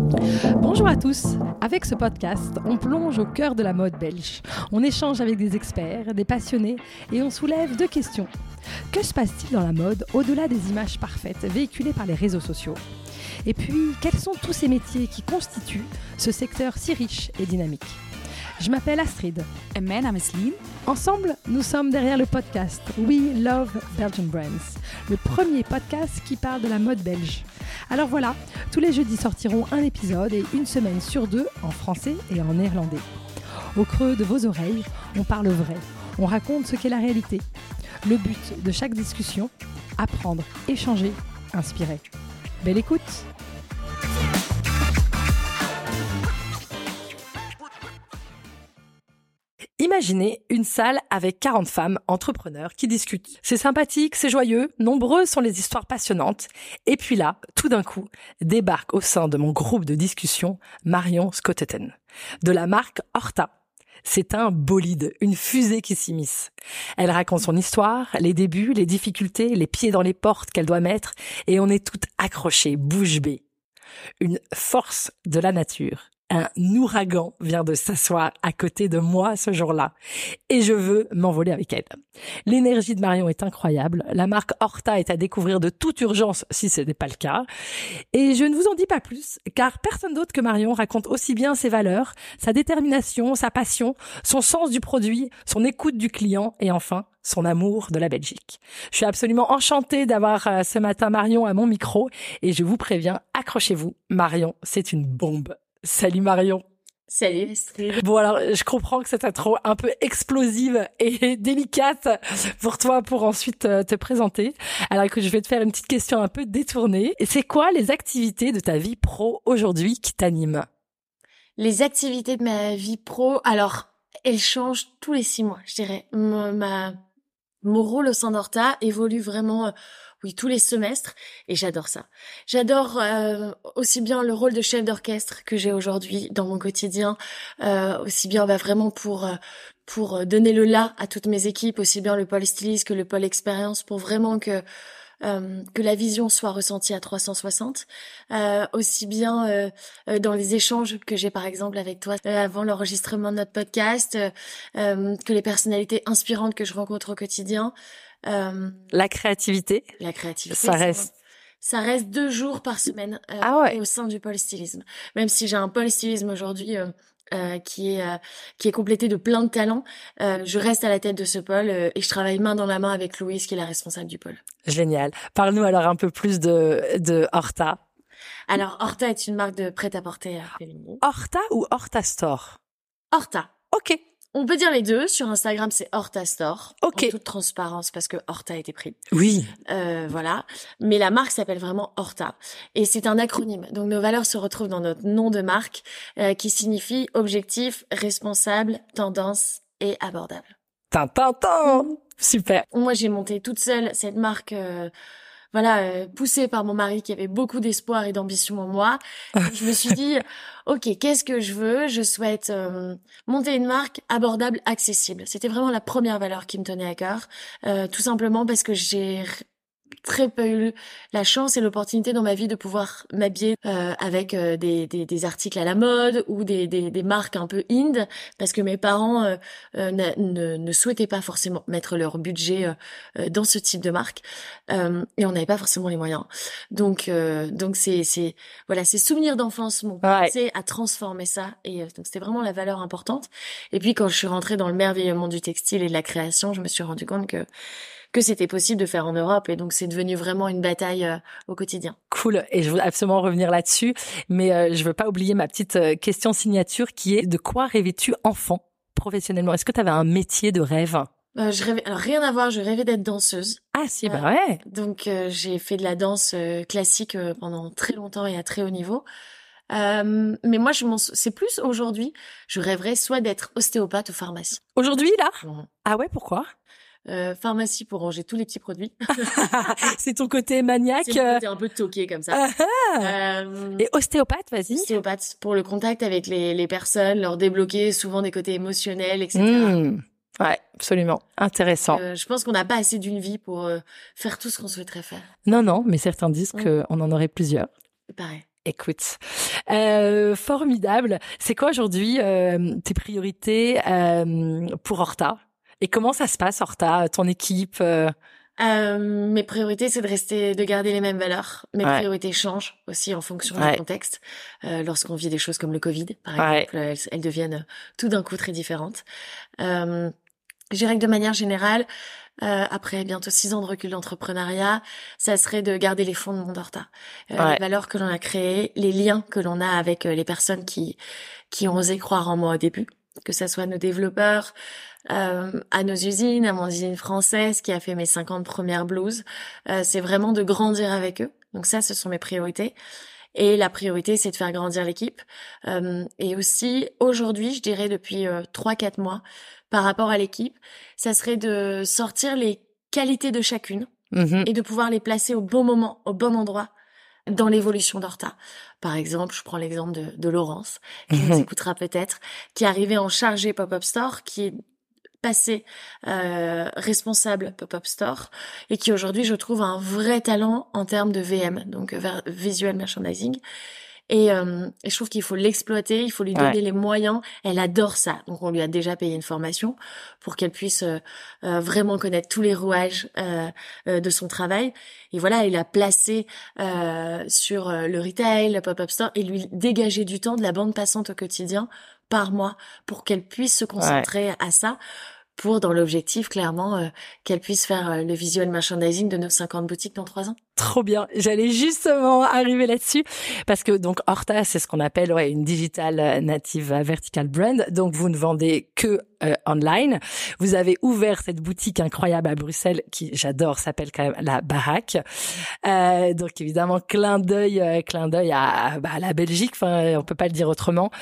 Bonjour à tous. Avec ce podcast, on plonge au cœur de la mode belge. On échange avec des experts, des passionnés et on soulève deux questions. Que se passe-t-il dans la mode au-delà des images parfaites véhiculées par les réseaux sociaux ? Et puis, quels sont tous ces métiers qui constituent ce secteur si riche et dynamique ? Je m'appelle Astrid. En mijn naam is Lien. Ensemble, nous sommes derrière le podcast We Love Belgian Brands, le premier podcast qui parle de la mode belge. Alors voilà, tous les jeudis sortiront un épisode et une semaine sur deux en français et en néerlandais. Au creux de vos oreilles, on parle vrai, on raconte ce qu'est la réalité. Le but de chaque discussion, apprendre, échanger, inspirer. Belle écoute! Imaginez une salle avec 40 femmes entrepreneurs qui discutent. C'est sympathique, c'est joyeux, nombreuses sont les histoires passionnantes. Et puis là, tout d'un coup, débarque au sein de mon groupe de discussion Marion Schotteten, de la marque Horta. C'est un bolide, une fusée qui s'immisce. Elle raconte son histoire, les débuts, les difficultés, les pieds dans les portes qu'elle doit mettre, et on est toutes accrochées, bouche bée. Une force de la nature. Un ouragan vient de s'asseoir à côté de moi ce jour-là et je veux m'envoler avec elle. L'énergie de Marion est incroyable. La marque Horta est à découvrir de toute urgence si ce n'est pas le cas. Et je ne vous en dis pas plus car personne d'autre que Marion raconte aussi bien ses valeurs, sa détermination, sa passion, son sens du produit, son écoute du client et enfin son amour de la Belgique. Je suis absolument enchantée d'avoir ce matin Marion à mon micro et je vous préviens, accrochez-vous, Marion, c'est une bombe. Salut Marion. Salut Astrid. Bon alors, je comprends que c'est intro un peu explosive et délicate pour toi pour ensuite te présenter. Alors écoute, je vais te faire une petite question un peu détournée. C'est quoi les activités de ta vie pro aujourd'hui qui t'animent ? Les activités de ma vie pro, alors, elles changent tous les 6 mois, je dirais. Mon rôle au sein d'Horta évolue vraiment, tous les semestres, et j'adore ça. J'adore aussi bien le rôle de chef d'orchestre que j'ai aujourd'hui dans mon quotidien, aussi bien vraiment pour donner le là à toutes mes équipes, aussi bien le pôle styliste que le pôle expérience, pour vraiment que la vision soit ressentie à 360, aussi bien dans les échanges que j'ai par exemple avec toi avant l'enregistrement de notre podcast, que les personnalités inspirantes que je rencontre au quotidien. La créativité, ça reste 2 jours par semaine au sein du pôle stylisme. Même si j'ai un pôle stylisme aujourd'hui qui est complété de plein de talents, je reste à la tête de ce pôle et je travaille main dans la main avec Louise qui est la responsable du pôle. Génial. Parle-nous alors un peu plus de Horta. Alors Horta est une marque de prêt-à-porter féminin. Horta ou Horta Store ? Horta. Ok. On peut dire les deux. Sur Instagram, c'est Horta Store. Ok. En toute transparence, parce que Horta a été pris. Oui. Voilà. Mais la marque s'appelle vraiment Horta. Et c'est un acronyme. Donc, nos valeurs se retrouvent dans notre nom de marque, qui signifie objectif, responsable, tendance et abordable. Tintin. Super. Moi, j'ai monté toute seule cette marque, poussée par mon mari qui avait beaucoup d'espoir et d'ambition en moi. Je me suis dit, ok, qu'est-ce que je veux ? Je souhaite monter une marque abordable, accessible. C'était vraiment la première valeur qui me tenait à cœur, tout simplement parce que j'ai très peu eu la chance et l'opportunité dans ma vie de pouvoir m'habiller avec des articles à la mode ou des marques un peu indie, parce que mes parents ne souhaitaient pas forcément mettre leur budget dans ce type de marque, et on n'avait pas forcément les moyens. Donc c'est ces souvenirs d'enfance m'ont poussé à transformer ça, et donc c'était vraiment la valeur importante. Et puis quand je suis rentrée dans le merveilleux monde du textile et de la création, je me suis rendu compte que c'était possible de faire en Europe, et donc c'est devenu vraiment une bataille au quotidien. Cool, et je veux absolument revenir là-dessus, mais je veux pas oublier ma petite question signature qui est: de quoi rêvais-tu enfant, professionnellement ? Est-ce que tu avais un métier de rêve ? Je rêvais, alors rien à voir, je rêvais d'être danseuse. Ah si, bah ouais. Donc j'ai fait de la danse classique pendant très longtemps et à très haut niveau. Mais moi, c'est plus aujourd'hui, je rêverais soit d'être ostéopathe ou pharmacie. Aujourd'hui, là ? Ah ouais, pourquoi ? Pharmacie pour ranger tous les petits produits. C'est ton côté maniaque. C'est mon côté un peu toqué comme ça. Et ostéopathe, vas-y. Ostéopathe pour le contact avec les personnes, leur débloquer souvent des côtés émotionnels, etc. Ouais, absolument. Intéressant. Je pense qu'on n'a pas assez d'une vie pour faire tout ce qu'on souhaiterait faire. Non, mais certains disent qu'on en aurait plusieurs. Pareil. Écoute, formidable. C'est quoi aujourd'hui tes priorités pour Horta? Et comment ça se passe, Horta, ton équipe Mes priorités, c'est de garder les mêmes valeurs. Mes priorités changent aussi en fonction du contexte. Lorsqu'on vit des choses comme le Covid, par exemple, elles deviennent tout d'un coup très différentes. Je dirais que de manière générale, après bientôt 6 ans de recul d'entrepreneuriat, ça serait de garder les fondements d'Horta. Les valeurs que l'on a créées, les liens que l'on a avec les personnes qui ont osé croire en moi au début, que ça soit nos développeurs, à nos usines, à mon usine française qui a fait mes 50 premières blouses. C'est vraiment de grandir avec eux. Donc ça, ce sont mes priorités. Et la priorité, c'est de faire grandir l'équipe. Et aussi, aujourd'hui, je dirais depuis 3-4 mois, par rapport à l'équipe, ça serait de sortir les qualités de chacune et de pouvoir les placer au bon moment, au bon endroit dans l'évolution d'Horta. Par exemple, je prends l'exemple de Laurence, qui nous écoutera peut-être, qui est arrivée en chargée Pop-Up Store, qui est passée responsable Pop-Up Store, et qui aujourd'hui, je trouve, a un vrai talent en termes de VM, donc Visual Merchandising. Et je trouve qu'il faut l'exploiter, il faut lui donner les moyens. Elle adore ça. Donc, on lui a déjà payé une formation pour qu'elle puisse vraiment connaître tous les rouages de son travail. Et voilà, il a placé sur le retail, le pop-up store, et lui dégager du temps de la bande passante au quotidien par mois pour qu'elle puisse se concentrer à ça. Pour, dans l'objectif, clairement, qu'elle puisse faire le visual merchandising de nos 50 boutiques dans 3 ans. Trop bien. J'allais justement arriver là-dessus parce que donc Horta, c'est ce qu'on appelle une digital native vertical brand. Donc vous ne vendez que online. Vous avez ouvert cette boutique incroyable à Bruxelles qui, j'adore, s'appelle quand même La Baraque. Donc évidemment clin d'œil à la Belgique. Enfin, on peut pas le dire autrement.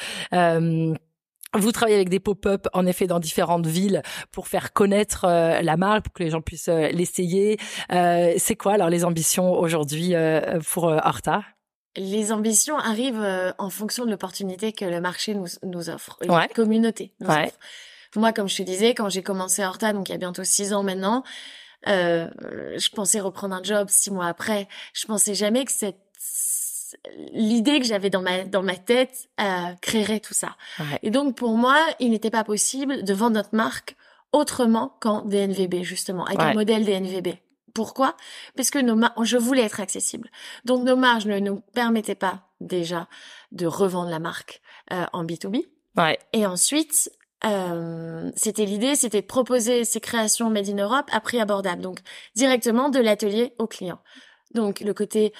Vous travaillez avec des pop-up, en effet, dans différentes villes pour faire connaître la marque, pour que les gens puissent l'essayer. C'est quoi alors les ambitions aujourd'hui pour Horta? Les ambitions arrivent en fonction de l'opportunité que le marché nous offre, la communauté nous offre. Moi, comme je te disais, quand j'ai commencé Horta, donc il y a bientôt 6 ans maintenant, je pensais reprendre un job 6 mois après. Je pensais jamais que l'idée que j'avais dans ma tête créerait tout ça. Et donc pour moi, il n'était pas possible de vendre notre marque autrement qu'en DNVB, justement, avec un modèle DNVB. Pourquoi? Parce que je voulais être accessible. Donc nos marges ne nous permettaient pas déjà de revendre la marque en B2B. Et ensuite, l'idée, c'était de proposer ces créations made in Europe à prix abordable, donc directement de l'atelier au client. Donc le côté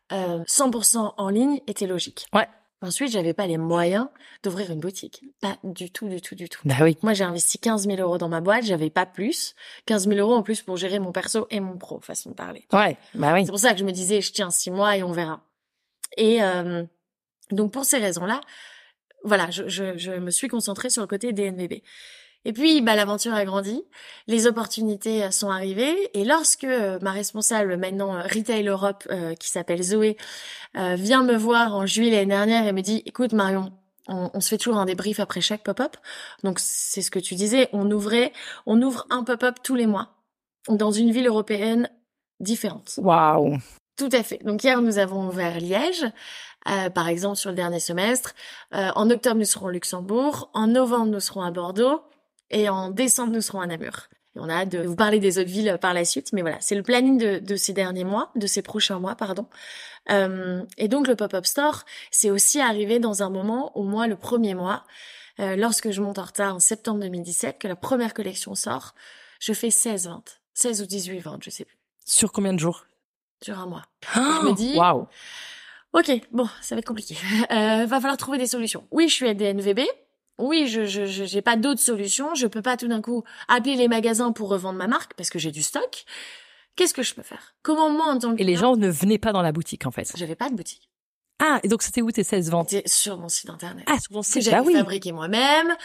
100% en ligne était logique. Ensuite, j'avais pas les moyens d'ouvrir une boutique. Pas du tout. Bah oui. Moi, j'ai investi 15 000 € dans ma boîte, j'avais pas plus. 15 000 € en plus pour gérer mon perso et mon pro, façon de parler. Bah oui. C'est pour ça que je me disais, je tiens 6 mois et on verra. Et donc, pour ces raisons-là, voilà, je me suis concentrée sur le côté DNVB. Et puis, l'aventure a grandi, les opportunités sont arrivées, et lorsque ma responsable maintenant Retail Europe, qui s'appelle Zoé, vient me voir en juillet l'année dernière et me dit, écoute Marion, on se fait toujours un débrief après chaque pop-up. Donc c'est ce que tu disais, on ouvre un pop-up tous les mois dans une ville européenne différente. Waouh. Tout à fait. Donc hier nous avons ouvert Liège. Par exemple sur le dernier semestre. En octobre nous serons au Luxembourg. En novembre nous serons à Bordeaux. Et en décembre, nous serons à Namur. Et on a hâte de vous parler des autres villes par la suite. Mais voilà, c'est le planning de ces prochains mois, pardon. Et donc, le pop-up store, c'est aussi arrivé dans un moment où moi, le premier mois, lorsque je monte Horta en septembre 2017, que la première collection sort, je fais 16 ventes. 16 ou 18 ventes, je sais plus. Sur combien de jours? Sur un mois. Oh, je me dis... Waouh. Ok, bon, ça va être compliqué. Va falloir trouver des solutions. Oui, je suis à DNVB. Oui, j'ai pas d'autres solutions. Je peux pas tout d'un coup appeler les magasins pour revendre ma marque parce que j'ai du stock. Qu'est-ce que je peux faire? Comment moi, en tant que... Et les gens ne venaient pas dans la boutique, en fait. J'avais pas de boutique. Ah, et donc c'était où tes 16 ventes? C'était sur mon site internet. Ah, sur ton site, que j'avais fabriqué moi-même,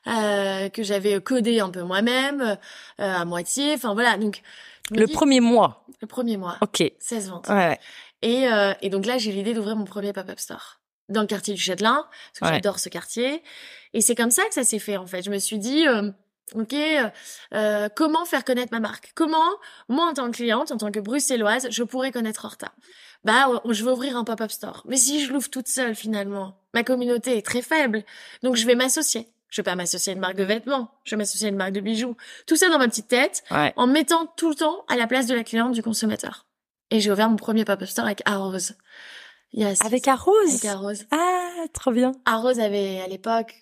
que j'avais codé un peu moi-même, à moitié. Enfin voilà, donc... Premier mois? Le premier mois. Ok. 16 ventes. Ouais. Et donc là, j'ai l'idée d'ouvrir mon premier pop-up store. Dans le quartier du Châtelain, parce que j'adore ce quartier. Et c'est comme ça que ça s'est fait, en fait. Je me suis dit, Ok, comment faire connaître ma marque? Comment, moi, en tant que cliente, en tant que bruxelloise, je pourrais connaître Horta? Je vais ouvrir un pop-up store. Mais si je l'ouvre toute seule, finalement, ma communauté est très faible. Donc, je vais m'associer. Je vais pas m'associer à une marque de vêtements. Je vais m'associer à une marque de bijoux. Tout ça dans ma petite tête, en mettant tout le temps à la place de la cliente, du consommateur. Et j'ai ouvert mon premier pop-up store avec Arose. Avec Arose? Avec Arose. Ah, trop bien. Arose avait, à l'époque,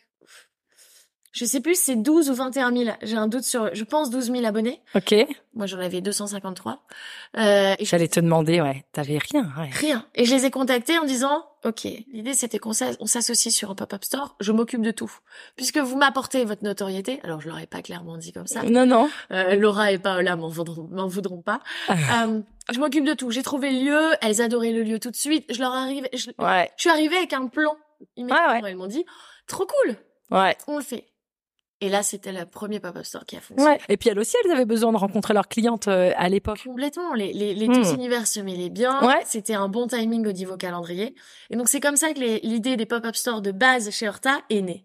je sais plus si c'est 12 ou 21 000. J'ai un doute je pense 12 000 abonnés. Ok. Moi, j'en avais 253. J'allais te demander, t'avais rien. Rien. Et je les ai contactés en disant, ok, l'idée c'était on s'associe sur un pop-up store, je m'occupe de tout. Puisque vous m'apportez votre notoriété, alors je leur ai pas clairement dit comme ça. Non. Laura et Paola m'en voudront pas. Je m'occupe de tout. J'ai trouvé le lieu, elles adoraient le lieu tout de suite. Je suis arrivée avec un plan. Immédiatement, elles m'ont dit, trop cool. On le fait. Et là, c'était le premier pop-up store qui a fonctionné. Et puis elles aussi, elles avaient besoin de rencontrer leurs clientes à l'époque. Complètement. Les deux univers se mêlaient bien. C'était un bon timing au niveau calendrier. Et donc, c'est comme ça que l'idée des pop-up stores de base chez Horta est née.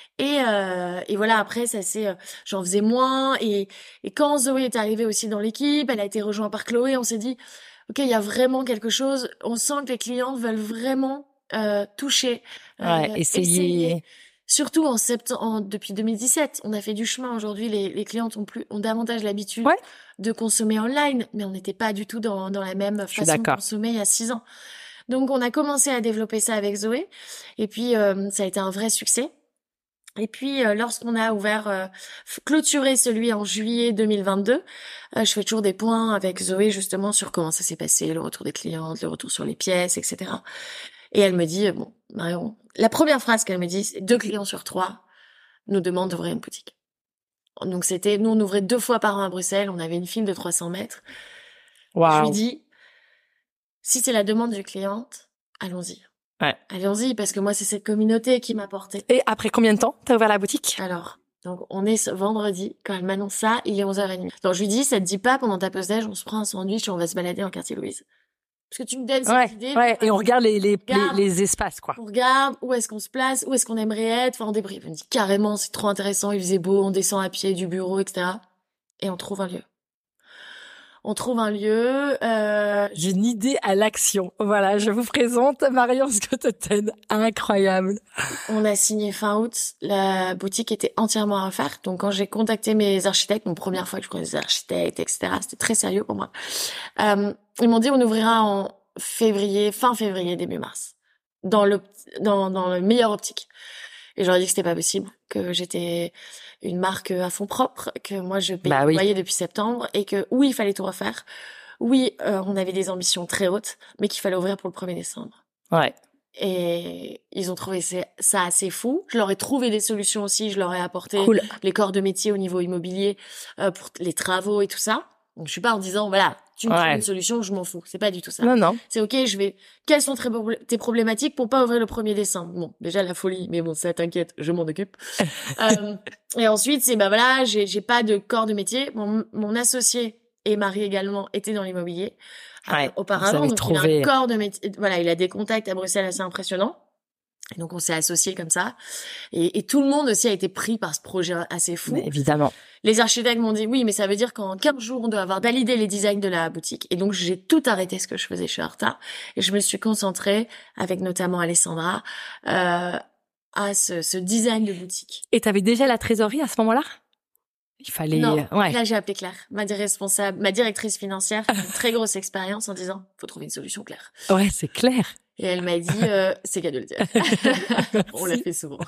Et voilà, après, j'en faisais moins. Et quand Zoé est arrivée aussi dans l'équipe, elle a été rejointe par Chloé, on s'est dit, ok, il y a vraiment quelque chose. On sent que les clientes veulent vraiment toucher. Essayer. Surtout depuis 2017, on a fait du chemin. Aujourd'hui, les clientes ont davantage l'habitude de consommer online, mais on n'était pas du tout dans la même façon de consommer il y a 6 ans. Donc, on a commencé à développer ça avec Zoé. Et puis, ça a été un vrai succès. Et puis, lorsqu'on a clôturé celui en juillet 2022, je fais toujours des points avec Zoé, justement, sur comment ça s'est passé, le retour des clientes, le retour sur les pièces, etc. Et elle me dit, bon, Marion, la première phrase qu'elle me dit, c'est 2 clients sur 3 nous demandent d'ouvrir une boutique. Donc nous on ouvrait 2 fois par an à Bruxelles, on avait une file de 300 mètres. Wow. Je lui dis, si c'est la demande du cliente, allons-y. Allons-y, parce que moi, c'est cette communauté qui m'a porté. Et après combien de temps t'as ouvert la boutique? Alors, donc on est ce vendredi, quand elle m'annonce ça, il est 11h30. Donc je lui dis, ça te dit pas, pendant ta pause déj, on se prend un sandwich et on va se balader en quartier Louise. Parce que tu me donnes cette idée. Et on regarde les espaces, quoi. On regarde où est-ce qu'on se place, où est-ce qu'on aimerait être. Enfin, on débriefe. On me dit carrément, c'est trop intéressant, il faisait beau, on descend à pied du bureau, etc. Et on trouve un lieu. J'ai une idée à l'action. Voilà, je vous présente Marion Scotteten. Incroyable. On a signé fin août. La boutique était entièrement à refaire. Donc, quand j'ai contacté mes architectes, première fois que je connais des architectes, etc., c'était très sérieux pour moi. Ils m'ont dit, on ouvrira en fin février, début mars. Dans le meilleur optique. Et j'aurais dit que c'était pas possible, que j'étais une marque à fonds propres, que moi je payais le loyer depuis septembre et que oui, il fallait tout refaire. Oui, on avait des ambitions très hautes, mais qu'il fallait ouvrir pour le 1er décembre. Et ils ont trouvé ça assez fou. Je leur ai trouvé des solutions aussi, je leur ai apporté les corps de métier au niveau immobilier pour les travaux et tout ça. Donc je suis pas en disant voilà, tu me trouves une solution, je m'en fous. C'est pas du tout ça. Non. C'est ok, quelles sont tes problématiques pour pas ouvrir le 1er décembre? Bon, déjà la folie, mais bon, ça t'inquiète, je m'en occupe. Et ensuite, c'est voilà, j'ai pas de corps de métier. Mon associé et mari également étaient dans l'immobilier auparavant. Donc il a un corps de métier. Voilà, il a des contacts à Bruxelles assez impressionnants. Et donc on s'est associés comme ça. Et tout le monde aussi a été pris par ce projet assez fou. Mais évidemment. Les architectes m'ont dit oui, mais ça veut dire qu'en 15 jours, on doit avoir validé les designs de la boutique. Et donc j'ai tout arrêté ce que je faisais chez Horta. Et je me suis concentrée, avec notamment Alessandra, à ce design de boutique. Et t'avais déjà la trésorerie à ce moment-là? Il fallait... Non, là j'ai appelé Claire, ma directrice financière, une très grosse expérience en disant faut trouver une solution, Claire. Ouais, c'est clair. Et elle m'a dit, c'est qu'à de le dire. On l'a fait souvent.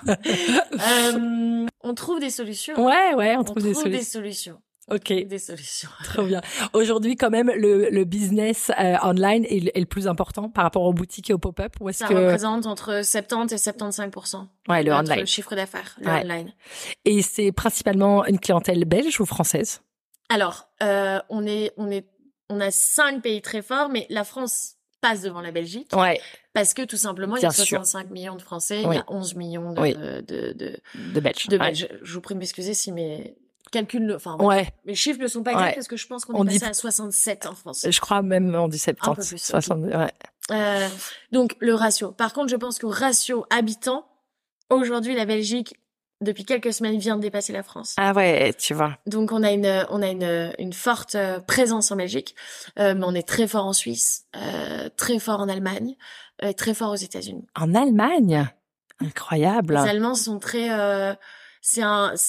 On trouve des solutions. On trouve des solutions. Ok. Des solutions. Trop bien. Aujourd'hui, quand même, le business online est le plus important par rapport aux boutiques et aux pop-up. Ça représente entre 70 et 75%. Le online. Le chiffre d'affaires, le online. Et c'est principalement une clientèle belge ou française? Alors, on a 5 pays très forts, mais la France passe devant la Belgique. Parce que tout simplement, il y a 65 millions de Français, il y a 11 millions de Belges. Je vous prie de m'excuser si mes calculs, mes chiffres ne sont pas exacts parce que je pense qu'on est passé à 67 en France. Je crois même on dit 70. Un peu plus. 60, donc le ratio. Par contre, je pense qu'au ratio habitant, aujourd'hui, la Belgique depuis quelques semaines, vient de dépasser la France. Ah ouais, tu vois. Donc on a une forte présence en Belgique, mais on est très fort en Suisse, très fort en Allemagne, très fort aux États-Unis. En Allemagne? Incroyable. Les Allemands sont très c'est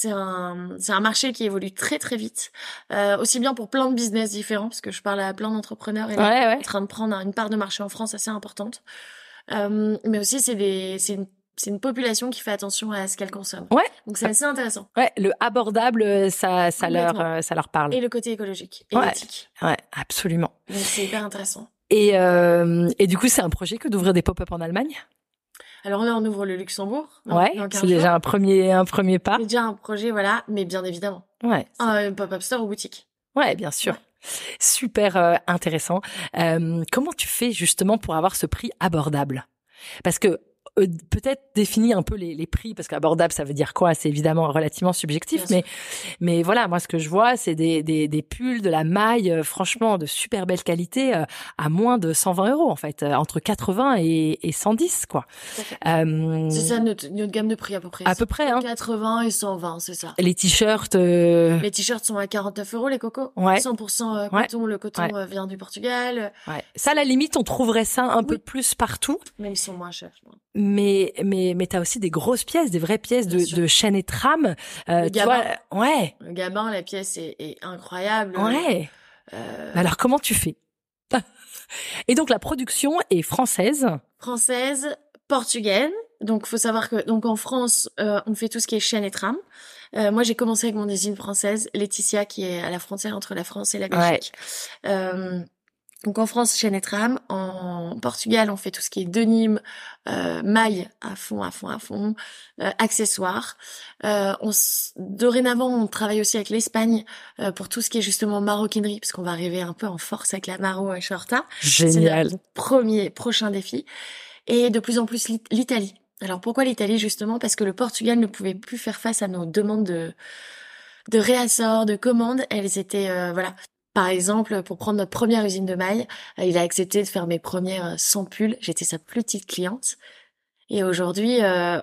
un marché qui évolue très très vite, aussi bien pour plein de business différents, parce que je parle à plein d'entrepreneurs et là, en train de prendre une part de marché en France assez importante. Mais aussi c'est une population qui fait attention à ce qu'elle consomme. Ouais. Donc c'est assez intéressant. Ouais, le abordable, ça leur parle. Et le côté écologique et éthique. Ouais, absolument. Donc c'est hyper intéressant. Et du coup, c'est un projet que d'ouvrir des pop-up en Allemagne? Alors là, on ouvre le Luxembourg. Ouais, c'est déjà un premier pas. C'est déjà un projet, voilà, mais bien évidemment. Ouais. Un pop-up store ou boutique. Ouais, bien sûr. Ouais. Super intéressant. Comment tu fais justement pour avoir ce prix abordable? Parce que peut-être définir un peu les prix, parce qu'abordable, ça veut dire quoi? C'est évidemment relativement subjectif, mais voilà, moi, ce que je vois, c'est des pulls, de la maille, franchement, de super belle qualité, à moins de 120 €, en fait, entre 80 et 110, quoi. C'est ça, notre gamme de prix, à peu près. À peu près, hein. 80 et 120, c'est ça. Les t-shirts, Les t-shirts sont à 49 €, les cocos. Ouais. 100% coton. Le coton vient du Portugal. Ouais. Ça, à la limite, on trouverait ça un peu plus partout. Mais ils sont moins chers, je crois. Mais t'as aussi des grosses pièces, des vraies pièces de chaîne et trame. Le gabin. Ouais. Le gabin, la pièce est incroyable. Ouais. Alors, comment tu fais? Et donc, la production est française. Française, portugaise. Donc, faut savoir que, donc, en France, on fait tout ce qui est chaîne et trame. Moi, j'ai commencé avec mon usine française, Laetitia, qui est à la frontière entre la France et la Belgique. Ouais. Donc en France, chaîne et trame. En Portugal, on fait tout ce qui est denim, maille à fond, accessoires. Dorénavant, on travaille aussi avec l'Espagne pour tout ce qui est justement maroquinerie, parce qu'on va arriver un peu en force avec la Maro et Shorta. Génial. C'est prochain défi. Et de plus en plus l'Italie. Alors pourquoi l'Italie justement? Parce que le Portugal ne pouvait plus faire face à nos demandes de réassort, de commandes. Elles étaient voilà. Par exemple, pour prendre notre première usine de mailles, il a accepté de faire mes premières 100 pulls. J'étais sa plus petite cliente. Et aujourd'hui,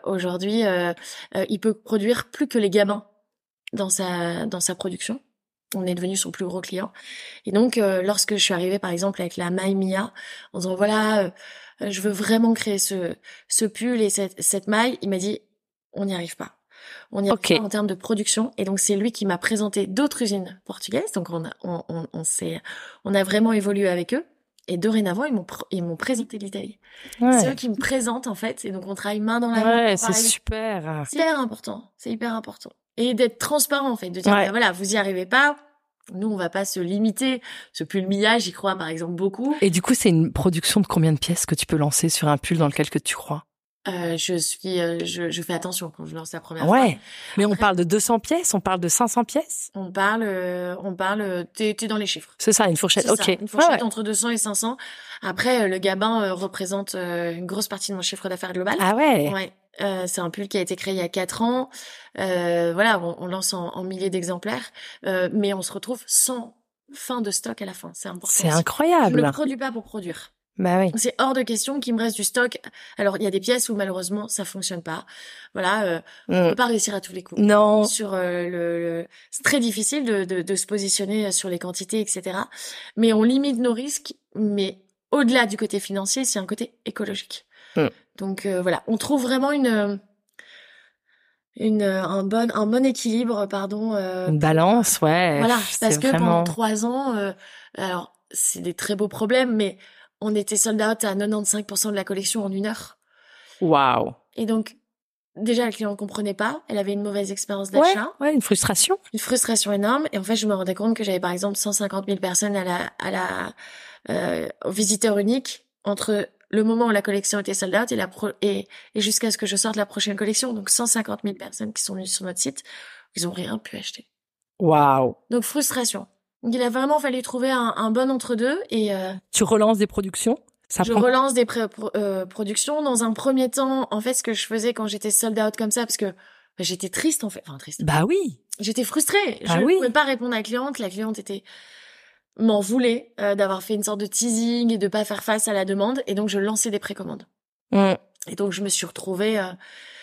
il peut produire plus que les gamins dans sa production. On est devenu son plus gros client. Et donc, lorsque je suis arrivée, par exemple, avec la maille Mia, en disant voilà, je veux vraiment créer ce pull et cette maille, il m'a dit on n'y arrive pas. On y a fait en termes de production, et donc c'est lui qui m'a présenté d'autres usines portugaises. Donc on a vraiment évolué avec eux, et dorénavant ils m'ont présenté l'Italie. Ouais. C'est eux qui me présentent en fait, et donc on travaille main dans la main. Ouais, c'est super. C'est hyper important. Et d'être transparent en fait, de dire ben voilà, vous y arrivez pas. Nous, on va pas se limiter. Ce pull Mia, j'y crois par exemple beaucoup. Et du coup, c'est une production de combien de pièces que tu peux lancer sur un pull dans lequel que tu crois? Je fais attention quand je lance la première fois. Ouais. Mais on parle de 200 pièces, on parle de 500 pièces? On parle, t'es dans les chiffres. C'est ça, une fourchette. Ok. Une fourchette entre 200 et 500. Après, le gabin représente une grosse partie de mon chiffre d'affaires global. Ah ouais. Ouais. C'est un pull qui a été créé il y a 4 ans. Voilà, on lance en milliers d'exemplaires, mais on se retrouve sans fin de stock à la fin. C'est important. C'est incroyable. Je ne produis pas pour produire. Bah oui. C'est hors de question qu'il me reste du stock. Alors, il y a des pièces où malheureusement ça fonctionne pas. Voilà, on peut pas réussir à tous les coups. Non. Sur c'est très difficile de se positionner sur les quantités, etc. Mais on limite nos risques. Mais au-delà du côté financier, c'est un côté écologique. Donc voilà, on trouve vraiment un bon équilibre, pardon. Une balance, ouais. Voilà, parce que vraiment... pendant 3 ans, alors c'est des très beaux problèmes, mais on était sold out à 95% de la collection en 1 heure. Waouh. Et donc, déjà, la cliente ne comprenait pas. Elle avait une mauvaise expérience d'achat. Ouais, une frustration. Une frustration énorme. Et en fait, je me rendais compte que j'avais, par exemple, 150 000 personnes au visiteur unique entre le moment où la collection était sold out et jusqu'à ce que je sorte la prochaine collection. Donc, 150 000 personnes qui sont venues sur notre site. Ils ont rien pu acheter. Waouh. Donc, frustration. Donc, il a vraiment fallu trouver un bon entre-deux et... Tu relances des productions? Relance des productions. Dans un premier temps, en fait, ce que je faisais quand j'étais sold out comme ça, parce que j'étais triste, en fait. Enfin, triste. Bah oui. J'étais frustrée. Je ne pouvais pas répondre à la cliente. La cliente m'en voulait d'avoir fait une sorte de teasing et de pas faire face à la demande. Et donc, je lançais des précommandes. Et donc, je me suis retrouvée...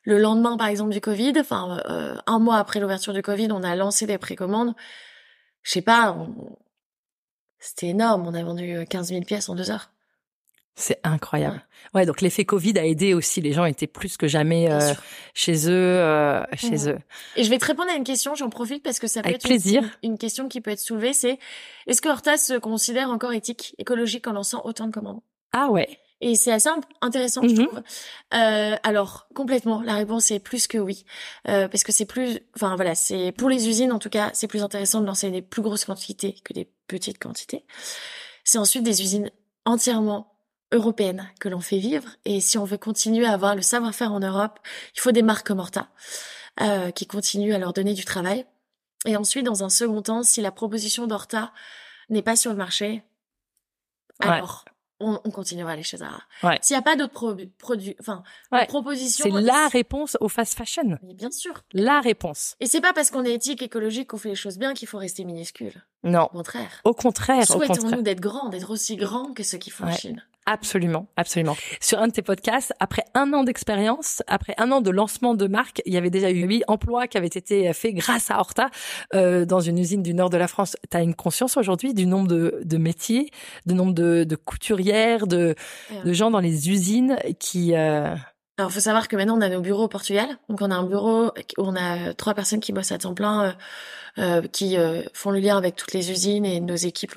le lendemain, par exemple, du Covid, un mois après l'ouverture du Covid, on a lancé des précommandes. Je sais pas, c'était énorme. On a vendu 15 000 pièces en 2 heures. C'est incroyable. Ouais, donc l'effet Covid a aidé aussi. Les gens étaient plus que jamais chez eux. Et je vais te répondre à une question, j'en profite parce que ça peut Avec être plaisir. Une question qui peut être soulevée, c'est est-ce que Horta se considère encore éthique, écologique en lançant autant de commandes? Ah ouais. Et c'est assez intéressant, je trouve. Alors, complètement, la réponse est plus que oui. Parce que c'est pour les usines, en tout cas, c'est plus intéressant de lancer des plus grosses quantités que des petites quantités. C'est ensuite des usines entièrement européennes que l'on fait vivre. Et si on veut continuer à avoir le savoir-faire en Europe, il faut des marques comme Horta, qui continuent à leur donner du travail. Et ensuite, dans un second temps, si la proposition d'Horta n'est pas sur le marché, alors on continuera à aller chez Zara. Ouais. S'il n'y a pas d'autres produits, propositions. C'est la réponse au fast fashion. Mais bien sûr. La réponse. Et c'est pas parce qu'on est éthique, écologique, qu'on fait les choses bien qu'il faut rester minuscule. Non. Au contraire. Au contraire. Souhaitons-nous d'être grands, d'être aussi grands que ceux qui font en Chine. Absolument, absolument. Sur un de tes podcasts, après 1 an d'expérience, après 1 an de lancement de marque, il y avait déjà eu 8 emplois qui avaient été faits grâce à Horta dans une usine du nord de la France. Tu as une conscience aujourd'hui du nombre de métiers, du nombre de couturières, de gens dans les usines qui... Alors, faut savoir que maintenant, on a nos bureaux au Portugal. Donc, on a un bureau où on a 3 personnes qui bossent à temps plein, qui font le lien avec toutes les usines et nos équipes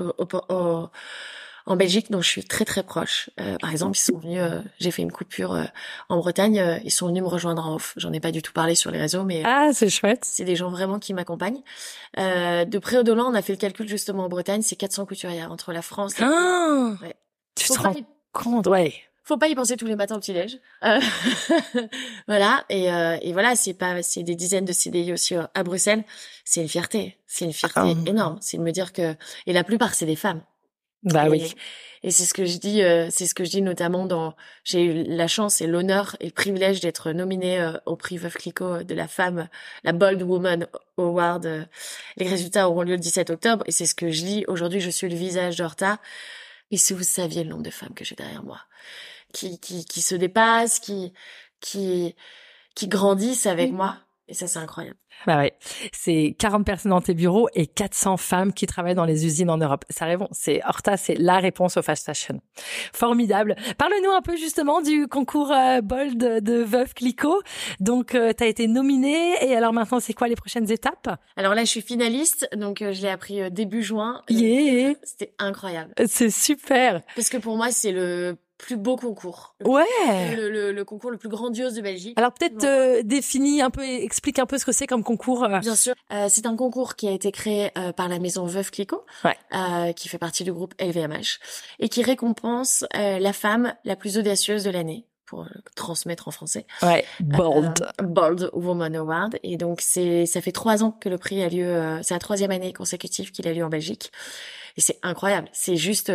en Belgique, dont je suis très très proche. Par exemple, ils sont venus, j'ai fait une coupure en Bretagne, ils sont venus me rejoindre en off. J'en ai pas du tout parlé sur les réseaux, mais c'est chouette. C'est des gens vraiment qui m'accompagnent. De près ou de loin, on a fait le calcul justement en Bretagne, c'est 400 couturières entre la France. Ouais. Tu te rends compte, ouais. Faut pas y penser tous les matins au petit-déj. Voilà. Et voilà, c'est des dizaines de CDI aussi à Bruxelles. C'est une fierté. C'est une fierté énorme. C'est de me dire que, et la plupart, c'est des femmes. Oui. Et c'est ce que je dis notamment j'ai eu la chance et l'honneur et le privilège d'être nominée au prix Veuve Clicquot de la femme, la Bold Woman Award. Les résultats auront lieu le 17 octobre et c'est ce que je dis. Aujourd'hui, je suis le visage d'Horta. Et si vous saviez le nombre de femmes que j'ai derrière moi, qui se dépassent, qui grandissent avec moi. Et ça, c'est incroyable. Bah ouais. C'est 40 personnes dans tes bureaux et 400 femmes qui travaillent dans les usines en Europe. Ça répond. Horta, c'est la réponse au fast fashion. Formidable. Parle-nous un peu justement du concours Bold de Veuve Clicquot. Donc, t'as été nominée et alors maintenant, c'est quoi les prochaines étapes? Alors là, je suis finaliste. Donc, je l'ai appris début juin. C'était incroyable. C'est super. Parce que pour moi, c'est le plus beau concours. Le concours le plus grandiose de Belgique. Alors peut-être explique un peu ce que c'est comme concours. Bien sûr. C'est un concours qui a été créé par la maison Veuve Clicquot, qui fait partie du groupe LVMH, et qui récompense la femme la plus audacieuse de l'année, pour transmettre en français. Bold Woman Award. Et donc ça fait 3 ans que le prix a lieu, c'est la 3e année consécutive qu'il a lieu en Belgique. Et c'est incroyable. C'est juste...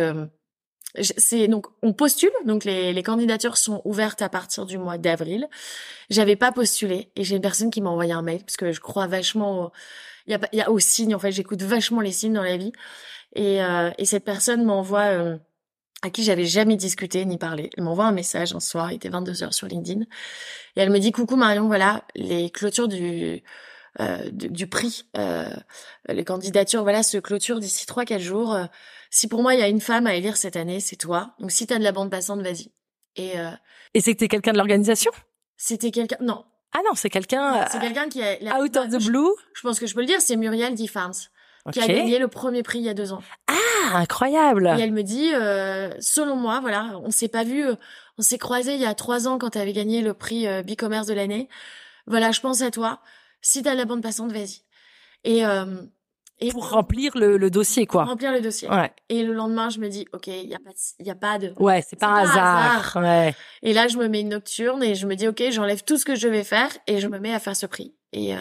donc on postule, donc les candidatures sont ouvertes à partir du mois d'avril. J'avais pas postulé et j'ai une personne qui m'a envoyé un mail parce que je crois vachement il y a aux signes, en fait, j'écoute vachement les signes dans la vie et cette personne m'envoie à qui j'avais jamais discuté ni parlé. Elle m'envoie un message un soir, il était 22h sur LinkedIn et elle me dit: coucou Marion, voilà, les clôtures du prix, les candidatures se clôturent d'ici 3-4 jours. Si pour moi il y a une femme à élire cette année, c'est toi. Donc si t'as de la bande passante, vas-y. Et c'était quelqu'un de l'organisation? C'était quelqu'un. Non. Ah non, c'est quelqu'un. C'est quelqu'un qui a. Out of the blue. Je pense que je peux le dire. C'est Muriel Diffarms qui a gagné le premier prix il y a 2 ans. Ah, incroyable. Et elle me dit, selon moi, voilà, on s'est pas vu, on s'est croisés il y a 3 ans quand tu avais gagné le prix Bicommerce de l'année. Voilà, je pense à toi. Si t'as de la bande passante, vas-y. Et pour remplir le dossier, quoi. Pour remplir le dossier. Ouais. Et le lendemain, je me dis, ok, il y a pas de. Ouais, c'est pas un hasard. Ouais. Et là, je me mets une nocturne et je me dis, ok, j'enlève tout ce que je devais faire et je me mets à faire ce prix. Et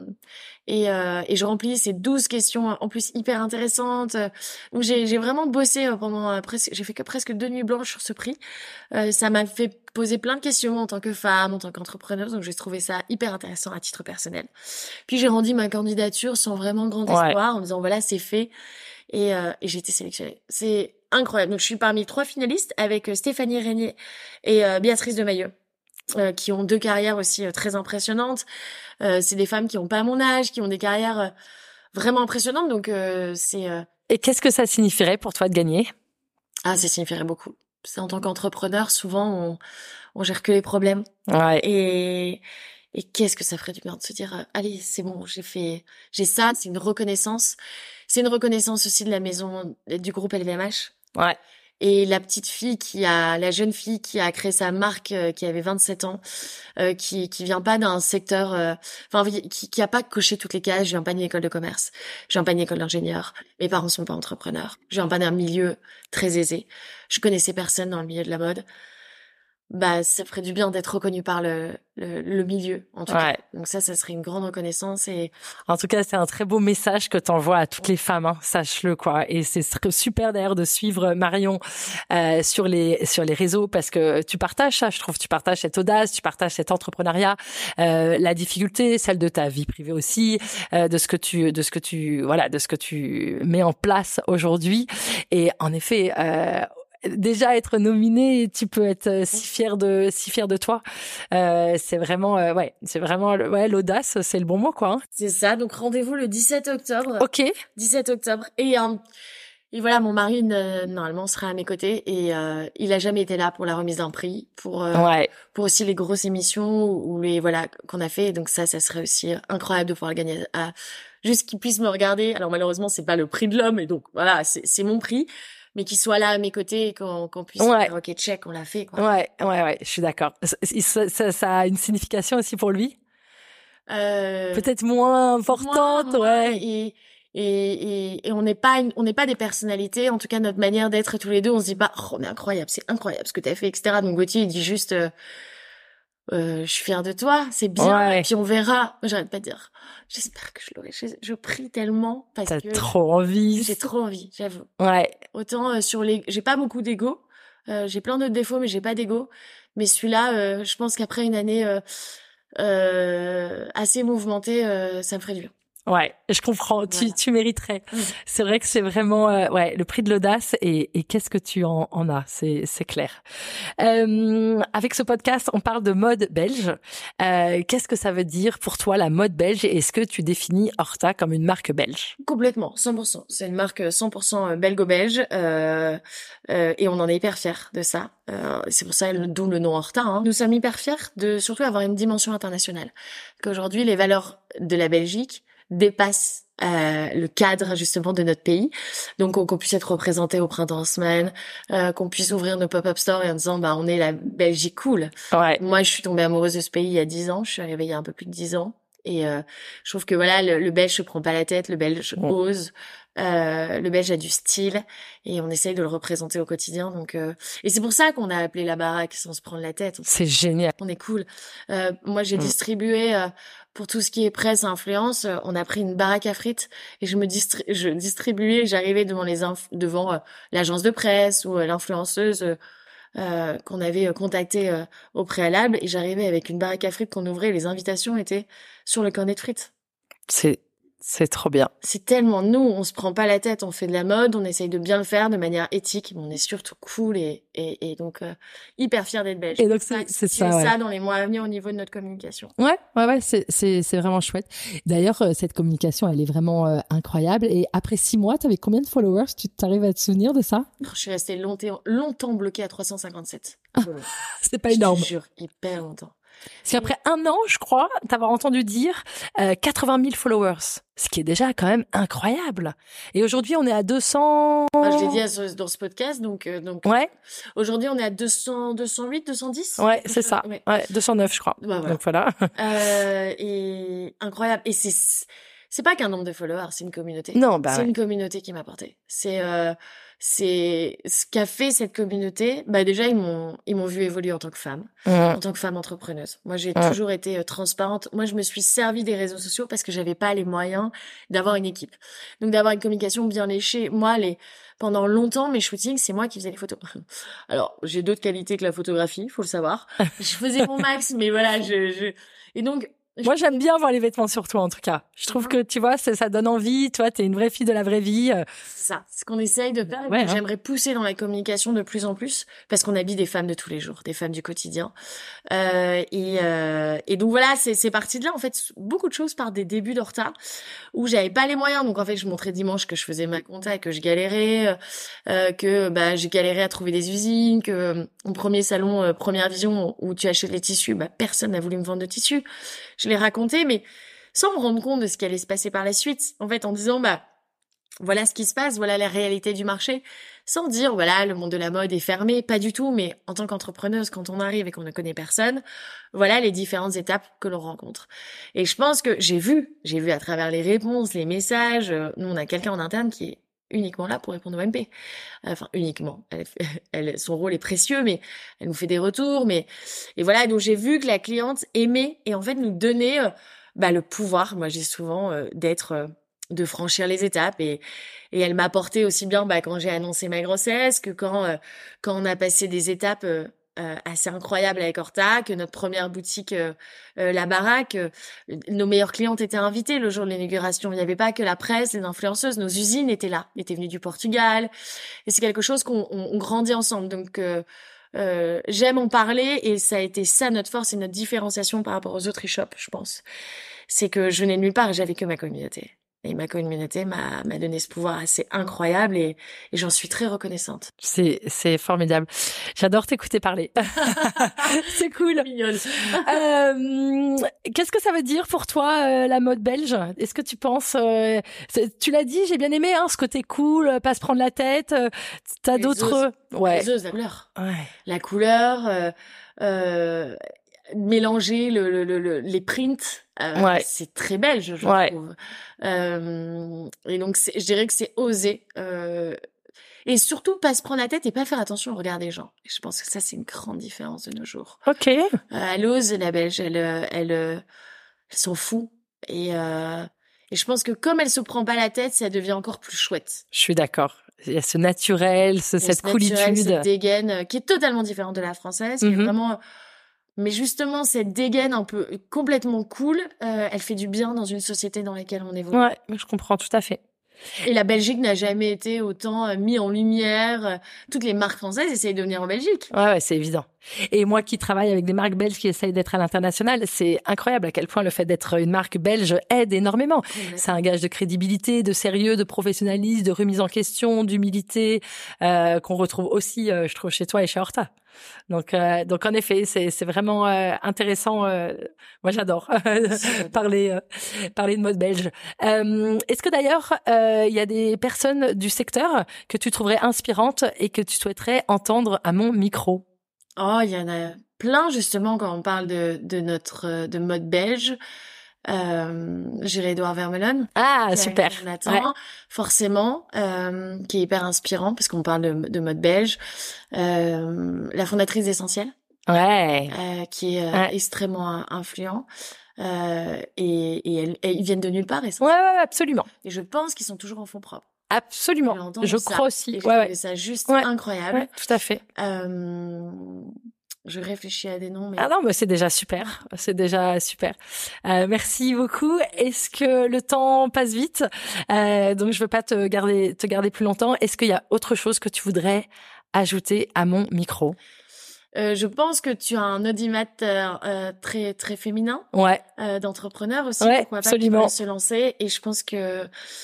je remplis ces 12 questions en plus hyper intéressantes. Donc j'ai vraiment bossé pendant j'ai fait que presque 2 nuits blanches sur ce prix. Ça m'a fait poser plein de questions en tant que femme, en tant qu'entrepreneuse, donc j'ai trouvé ça hyper intéressant à titre personnel. Puis j'ai rendu ma candidature sans vraiment grand espoir en me disant voilà, c'est fait et j'ai été sélectionnée. C'est incroyable. Donc je suis parmi 3 finalistes avec Stéphanie Régnier et Béatrice de Mailleux. qui ont 2 carrières aussi très impressionnantes. C'est des femmes qui ont pas mon âge, qui ont des carrières vraiment impressionnantes. Donc Et qu'est-ce que ça signifierait pour toi de gagner? ça signifierait beaucoup. C'est en tant qu'entrepreneur, souvent on gère que les problèmes. Ouais. Et qu'est-ce que ça ferait du bien de se dire allez, c'est bon, j'ai ça, c'est une reconnaissance. C'est une reconnaissance aussi de la maison du groupe LVMH. Ouais. Et la jeune fille qui a créé sa marque, qui avait 27 ans, qui vient pas d'un secteur, qui a pas coché toutes les cases. Je viens pas d'une école de commerce, je viens pas d'une école d'ingénieur. Mes parents sont pas entrepreneurs. Je viens pas d'un milieu très aisé. Je connaissais personne dans le milieu de la mode. Bah, ça ferait du bien d'être reconnu par le milieu, en tout cas. Donc ça serait une grande reconnaissance et... En tout cas, c'est un très beau message que t'envoies à toutes les femmes, hein, sache-le, quoi. Et c'est super d'ailleurs de suivre Marion, sur les réseaux parce que tu partages ça, je trouve. Tu partages cette audace, tu partages cet entrepreneuriat, la difficulté, celle de ta vie privée aussi, de ce que tu mets en place aujourd'hui. Et en effet, déjà être nominé, tu peux être si fier de toi. C'est vraiment l'audace, c'est le bon mot, quoi. Hein. C'est ça. Donc rendez-vous le 17 octobre. Ok. 17 octobre. Et voilà, mon mari normalement sera à mes côtés et il a jamais été là pour la remise d'un prix, pour aussi les grosses émissions ou les qu'on a fait. Et donc ça serait aussi incroyable de pouvoir le gagner, juste qu'il puisse me regarder. Alors malheureusement c'est pas le prix de l'homme et donc voilà, c'est mon prix. Mais qu'il soit là à mes côtés et qu'on puisse dire ok, check, on l'a fait, quoi. Ouais, je suis d'accord. Ça a une signification aussi pour lui? Peut-être moins importante, ouais. Et on n'est pas des personnalités. En tout cas, notre manière d'être tous les deux, on se dit pas, oh, on est incroyable, c'est incroyable ce que t'as fait, etc. Donc Gauthier, il dit juste, je suis fière de toi, c'est bien. Ouais. Et puis on verra. Moi, j'arrête pas de dire, j'espère que je l'aurai. Je prie tellement parce que trop envie. J'ai trop envie, j'avoue. Ouais. Autant j'ai pas beaucoup d'ego. J'ai plein d'autres défauts, mais j'ai pas d'ego. Mais celui-là, je pense qu'après une année assez mouvementée, ça me ferait du bien. Ouais, je comprends. Voilà. Tu mériterais. C'est vrai que c'est vraiment le prix de l'audace et qu'est-ce que tu en as, c'est clair. Avec ce podcast, on parle de mode belge. Qu'est-ce que ça veut dire pour toi la mode belge et est-ce que tu définis Horta comme une marque belge? Complètement, 100%. C'est une marque 100% belgo-belge et on en est hyper fiers de ça. C'est pour ça d'où le nom Horta. Hein. Nous sommes hyper fiers de surtout avoir une dimension internationale. Qu'aujourd'hui les valeurs de la Belgique dépasse le cadre justement de notre pays, donc qu'on puisse être représenté au printemps en semaine, qu'on puisse ouvrir nos pop-up stores et en disant on est la Belgique cool. Ouais. Moi je suis tombée amoureuse de ce pays il y a 10 ans, je suis arrivée il y a un peu plus de 10 ans et je trouve que voilà le Belge se prend pas la tête, le Belge ose, le Belge a du style et on essaye de le représenter au quotidien. Donc et c'est pour ça qu'on a appelé la baraque sans se prendre la tête. C'est génial. On est cool. Moi j'ai distribué pour tout ce qui est presse, influence, on a pris une baraque à frites et je distribuais, j'arrivais devant l'agence de presse ou l'influenceuse qu'on avait contactée au préalable et j'arrivais avec une baraque à frites qu'on ouvrait et les invitations étaient sur le cornet de frites. C'est trop bien. C'est tellement nous, on se prend pas la tête, on fait de la mode, on essaye de bien le faire de manière éthique, mais on est surtout cool et donc hyper fiers d'être belge. Et donc c'est ça dans les mois à venir au niveau de notre communication. Ouais, c'est vraiment chouette. D'ailleurs, cette communication, elle est vraiment incroyable. Et après 6 mois, t'avais combien de followers? Tu t'arrives à te souvenir de ça? Je suis restée longtemps bloquée à 357. C'est pas énorme. Je te jure, hyper longtemps. Parce qu'après 1 an, je crois, t'avoir entendu dire 80 000 followers, ce qui est déjà quand même incroyable. Et aujourd'hui, on est à 200... je l'ai dit dans ce podcast, donc ouais. Aujourd'hui, on est à 208, 210. Ouais, c'est ça. Ouais, 209, je crois. Bah, voilà. Donc voilà. Et incroyable. Et c'est pas qu'un nombre de followers, c'est une communauté. Non, c'est une communauté qui m'a porté. C'est ce qu'a fait cette communauté. Bah déjà ils m'ont vu évoluer en tant que femme, en tant que femme entrepreneuse. Moi j'ai toujours été transparente. Moi je me suis servie des réseaux sociaux parce que j'avais pas les moyens d'avoir une équipe. Donc d'avoir une communication bien léchée. Moi pendant longtemps mes shootings c'est moi qui faisais les photos. Alors j'ai d'autres qualités que la photographie, faut le savoir. Je faisais mon max, mais voilà et donc Moi, j'aime bien voir les vêtements sur toi, en tout cas. Je trouve que, tu vois, ça donne envie. Toi, t'es une vraie fille de la vraie vie. C'est ça, c'est ce qu'on essaye de faire. Ouais, J'aimerais pousser dans la communication de plus en plus, parce qu'on habille des femmes de tous les jours, des femmes du quotidien. Et donc voilà, c'est parti de là. En fait, beaucoup de choses par des débuts d'Horta, où j'avais pas les moyens. Donc en fait, je montrais dimanche que je faisais ma compta, que je galérais, que j'ai galéré à trouver des usines, que mon premier salon, Première Vision, où tu achètes les tissus, personne n'a voulu me vendre de tissus. Je l'ai raconté, mais sans me rendre compte de ce qui allait se passer par la suite. En fait, en disant, voilà ce qui se passe, voilà la réalité du marché, sans dire, voilà, le monde de la mode est fermé, pas du tout, mais en tant qu'entrepreneuse, quand on arrive et qu'on ne connaît personne, voilà les différentes étapes que l'on rencontre. Et je pense que j'ai vu à travers les réponses, les messages, nous on a quelqu'un en interne qui est uniquement là pour répondre au MP. Enfin, uniquement. Son rôle est précieux, mais elle nous fait des retours, et voilà, donc j'ai vu que la cliente aimait et en fait nous donnait, le pouvoir, moi j'ai souvent, de franchir les étapes et elle m'a apporté aussi bien, quand j'ai annoncé ma grossesse que quand on a passé des étapes, assez incroyable avec Horta, que notre première boutique, La Baraque, nos meilleures clientes étaient invitées le jour de l'inauguration. Il n'y avait pas que la presse, les influenceuses, nos usines étaient là, étaient venues du Portugal. Et c'est quelque chose on grandit ensemble. Donc, j'aime en parler et ça a été ça notre force et notre différenciation par rapport aux autres e-shops, je pense. C'est que je venais de nulle part et j'avais que ma communauté. Et ma communauté m'a donné ce pouvoir assez incroyable et j'en suis très reconnaissante. C'est formidable. J'adore t'écouter parler. C'est cool. Mignonne. Qu'est-ce que ça veut dire pour toi, la mode belge? Est-ce que tu penses, tu l'as dit, j'ai bien aimé, ce côté cool, pas se prendre la tête. T'as d'autres, ouais. Les oses, la couleur. Ouais. La couleur, mélanger les prints, c'est très belge, je trouve. Et donc je dirais que c'est oser, et surtout pas se prendre la tête et pas faire attention au regard des gens. Et je pense que ça c'est une grande différence de nos jours. Ok. Elle ose, la belge, elle s'en fout et je pense que comme elle se prend pas la tête, ça devient encore plus chouette. Je suis d'accord. Il y a ce naturel, cette coolitude, cette dégaine qui est totalement différente de la française, qui est vraiment. Mais justement, cette dégaine un peu complètement cool, elle fait du bien dans une société dans laquelle on évolue. Ouais, je comprends tout à fait. Et la Belgique n'a jamais été autant mis en lumière. Toutes les marques françaises essayent de venir en Belgique. Ouais, c'est évident. Et moi qui travaille avec des marques belges qui essayent d'être à l'international, c'est incroyable à quel point le fait d'être une marque belge aide énormément. C'est un gage de crédibilité, de sérieux, de professionnalisme, de remise en question, d'humilité, qu'on retrouve aussi, je trouve, chez toi et chez Horta. Donc en effet, c'est vraiment intéressant. Moi, j'adore parler de mode belge. Est-ce que d'ailleurs, il y a des personnes du secteur que tu trouverais inspirantes et que tu souhaiterais entendre à mon micro? Oh, il y en a plein justement quand on parle de mode belge. J'irai Edouard Vermeulen. Ah, super. Nathan, forcément, qui est hyper inspirant parce qu'on parle de mode belge. La fondatrice d'Essentiel. Ouais. Qui est extrêmement influent. Et ils viennent de nulle part. Ouais, absolument. Et je pense qu'ils sont toujours en fonds propres. Absolument. Je crois aussi. Et je trouvais ça juste incroyable. Ouais, tout à fait. Je réfléchis à des noms, mais... Ah non, mais c'est déjà super. C'est déjà super. Merci beaucoup. Est-ce que le temps passe vite? Donc je veux pas te garder plus longtemps. Est-ce qu'il y a autre chose que tu voudrais ajouter à mon micro? Je pense que tu as un audimat très très féminin, d'entrepreneur aussi, pourquoi absolument. Pas se lancer. Et je pense que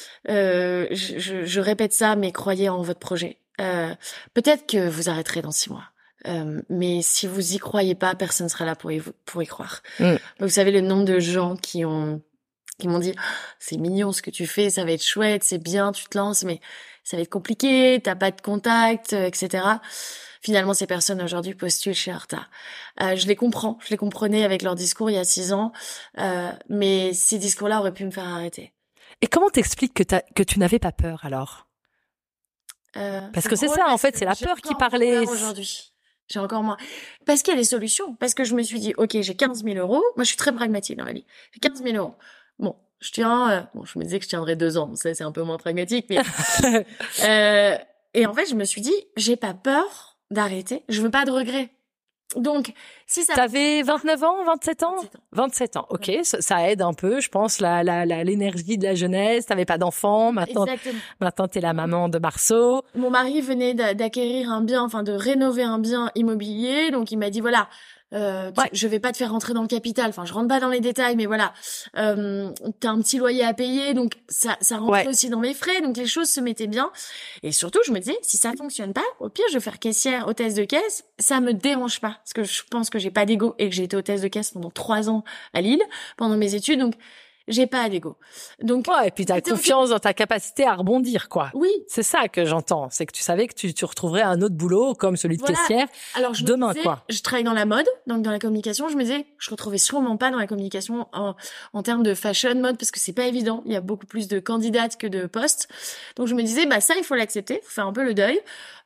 je répète ça, mais croyez en votre projet. Peut-être que vous arrêterez dans 6 mois. Mais si vous y croyez pas, personne sera là pour y croire. Vous savez le nombre de gens qui m'ont dit c'est mignon ce que tu fais, ça va être chouette, c'est bien, tu te lances, mais ça va être compliqué, t'as pas de contact, etc. Finalement, ces personnes aujourd'hui postulent chez Horta. Je les comprenais avec leur discours il y a 6 ans, mais ces discours-là auraient pu me faire arrêter. Et comment t'expliques que tu n'avais pas peur alors? Parce que c'est ça, en fait, c'est la peur qui parlait. Aujourd'hui. J'ai encore moins. Parce qu'il y a des solutions. Parce que je me suis dit, ok, j'ai 15 000 euros. Moi, je suis très pragmatique dans la vie. J'ai 15 000 euros. Bon, je tiens, je me disais que je tiendrais 2 ans. Ça, c'est un peu moins pragmatique, mais, et en fait, je me suis dit, j'ai pas peur d'arrêter. Je veux pas de regrets. Donc, si ça... T'avais 29 ans, 27 ans? 27 ans. 27 ans. OK, ça aide un peu, je pense, l'énergie de la jeunesse. T'avais pas d'enfant. Maintenant, t'es la maman de Marceau. Mon mari venait d'acquérir un bien, enfin, de rénover un bien immobilier. Donc, il m'a dit, voilà, je vais pas te faire rentrer dans le capital. Enfin, je rentre pas dans les détails, mais voilà, t'as un petit loyer à payer, donc ça rentrait aussi dans mes frais, donc les choses se mettaient bien. Et surtout, je me disais, si ça fonctionne pas, au pire, je vais faire caissière, hôtesse de caisse. Ça me dérange pas, parce que je pense que j'ai pas d'ego et que j'ai été hôtesse de caisse pendant 3 ans à Lille pendant mes études, donc j'ai pas d'ego. Donc et puis t'as confiance dans ta capacité à rebondir, quoi. Oui. C'est ça que j'entends, c'est que tu savais que tu retrouverais un autre boulot comme celui de caissière. Alors demain, quoi. Je travaille dans la mode, donc dans la communication. Je me disais, je retrouvais sûrement pas dans la communication en termes de fashion mode, parce que c'est pas évident. Il y a beaucoup plus de candidates que de postes. Donc je me disais, ça il faut l'accepter, faut faire un peu le deuil.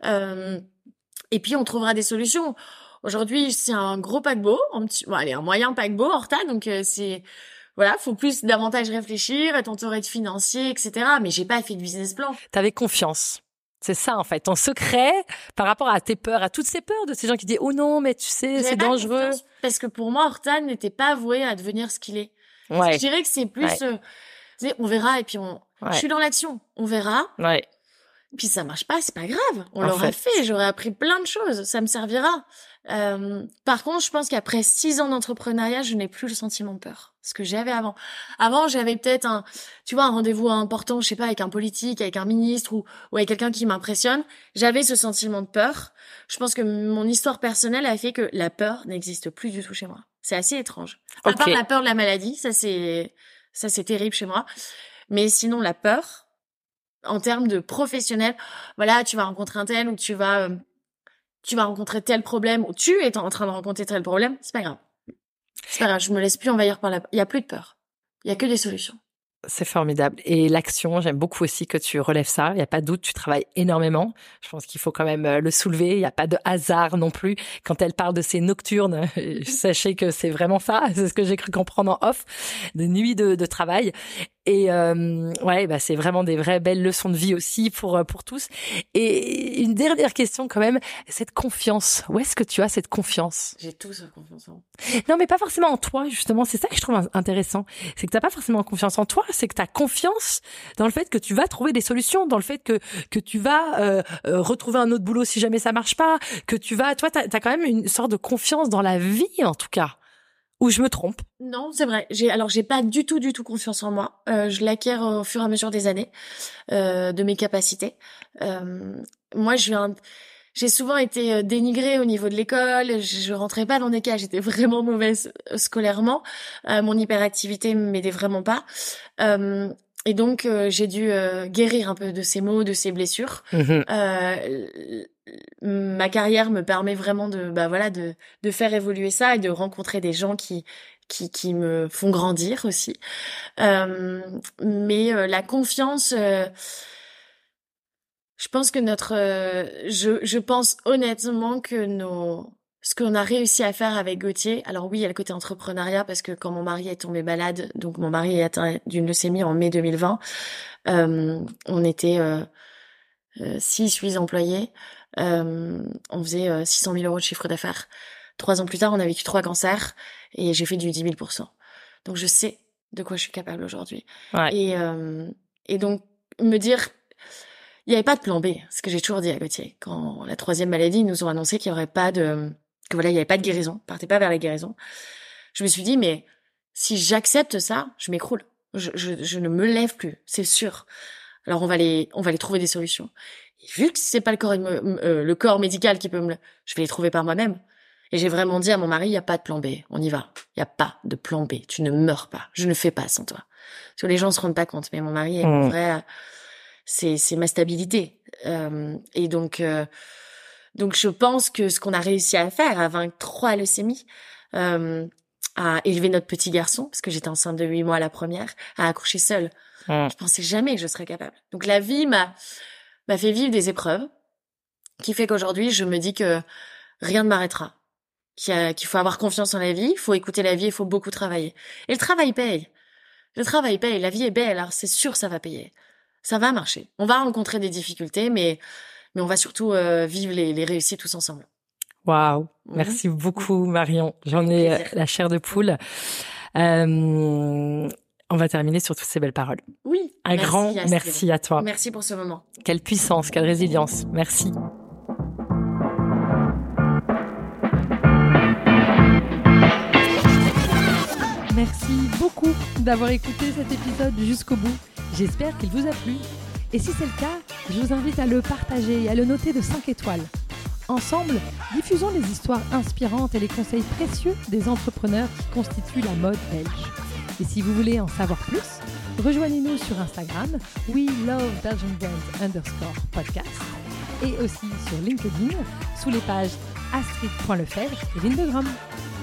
Et puis on trouvera des solutions. Aujourd'hui, c'est un gros paquebot, un moyen paquebot Horta, donc c'est voilà, faut davantage réfléchir, t'entourer de financiers, etc. Mais j'ai pas fait de business plan. T'avais confiance. C'est ça, en fait. Ton secret, par rapport à tes peurs, à toutes ces peurs de ces gens qui disent, oh non, mais tu sais, c'est dangereux. Parce que pour moi, Horta n'était pas voué à devenir ce qu'il est. Ouais. Je dirais que c'est plus, on verra, et puis je suis dans l'action. On verra. Ouais. Puis ça marche pas, c'est pas grave. On l'aura fait, j'aurais appris plein de choses. Ça me servira. Par contre, je pense qu'après 6 ans d'entrepreneuriat, je n'ai plus le sentiment de peur. Ce que j'avais avant. Avant, j'avais peut-être un rendez-vous important, je sais pas, avec un politique, avec un ministre ou avec quelqu'un qui m'impressionne. J'avais ce sentiment de peur. Je pense que mon histoire personnelle a fait que la peur n'existe plus du tout chez moi. C'est assez étrange. À part la peur de la maladie, ça c'est terrible chez moi. Mais sinon, la peur, en termes de professionnel, voilà, tu vas rencontrer un tel ou tu vas rencontrer tel problème ou tu es en train de rencontrer tel problème, c'est pas grave. C'est pas grave, je me laisse plus envahir par il y a plus de peur. Il y a que des solutions. C'est formidable. Et l'action, j'aime beaucoup aussi que tu relèves ça. Il n'y a pas de doute, tu travailles énormément. Je pense qu'il faut quand même le soulever. Il n'y a pas de hasard non plus. Quand elle parle de ces nocturnes, sachez que c'est vraiment ça. C'est ce que j'ai cru comprendre en off. Des nuits de travail. Et c'est vraiment des vraies belles leçons de vie aussi pour tous. Et une dernière question quand même, cette confiance. Où est-ce que tu as cette confiance? J'ai tout cette confiance en moi. Non, mais pas forcément en toi, justement. C'est ça que je trouve intéressant. C'est que t'as pas forcément confiance en toi, c'est que t'as confiance dans le fait que tu vas trouver des solutions, dans le fait que tu vas retrouver un autre boulot si jamais ça marche pas, que toi, t'as quand même une sorte de confiance dans la vie, en tout cas. Ou je me trompe? Non, c'est vrai. J'ai pas du tout confiance en moi. Je l'acquiers au fur et à mesure des années, de mes capacités. Moi, j'ai souvent été dénigrée au niveau de l'école. Je rentrais pas dans des cases. J'étais vraiment mauvaise scolairement. Mon hyperactivité m'aidait vraiment pas. Et donc, j'ai dû guérir un peu de ces maux, de ces blessures. Ma carrière me permet vraiment de faire évoluer ça et de rencontrer des gens qui me font grandir aussi. Mais la confiance, je pense que je pense honnêtement que ce qu'on a réussi à faire avec Gauthier, alors oui, il y a le côté entrepreneuriat parce que quand mon mari est tombé malade, donc mon mari est atteint d'une leucémie en mai 2020, on était 6-8 employés, on faisait 600 000 € de chiffre d'affaires. 3 ans plus tard, on a vécu 3 cancers et j'ai fait du 10 000%. Donc je sais de quoi je suis capable aujourd'hui. Ouais. Et donc me dire, il n'y avait pas de plan B, ce que j'ai toujours dit à Gauthier. Quand la 3e maladie, ils nous ont annoncé qu'il y aurait pas il n'y avait pas de guérison, partez pas vers la guérison. Je me suis dit, mais si j'accepte ça, je m'écroule. Je ne me lève plus, c'est sûr. Alors on va les trouver des solutions. Et vu que c'est pas le corps médical qui peut je vais les trouver par moi-même. Et j'ai vraiment dit à mon mari, il y a pas de plan B, on y va. Il y a pas de plan B, tu ne meurs pas, je ne fais pas sans toi. Parce que les gens se rendent pas compte, mais mon mari est mon vrai, c'est ma stabilité. Et donc je pense que ce qu'on a réussi à faire, à vaincre 3 leucémies, à élever notre petit garçon, parce que j'étais enceinte de 8 mois à la première, à accoucher seule. Je pensais jamais que je serais capable. Donc la vie m'a fait vivre des épreuves qui fait qu'aujourd'hui, je me dis que rien ne m'arrêtera. Qu'il faut avoir confiance en la vie, il faut écouter la vie, il faut beaucoup travailler. Et le travail paye. Le travail paye, la vie est belle, alors c'est sûr ça va payer. Ça va marcher. On va rencontrer des difficultés, mais on va surtout vivre les réussites tous ensemble. Waouh, merci beaucoup Marion. J'en ai la chair de poule. On va terminer sur toutes ces belles paroles. Oui. Un grand merci à toi. Merci pour ce moment. Quelle puissance, quelle résilience. Merci. Merci beaucoup d'avoir écouté cet épisode jusqu'au bout. J'espère qu'il vous a plu. Et si c'est le cas, je vous invite à le partager et à le noter de 5 étoiles. Ensemble, diffusons les histoires inspirantes et les conseils précieux des entrepreneurs qui constituent la mode belge. Et si vous voulez en savoir plus, rejoignez-nous sur Instagram, WeLoveBelgianBrands_podcast et aussi sur LinkedIn sous les pages astrid.lefebvre et Lindegram.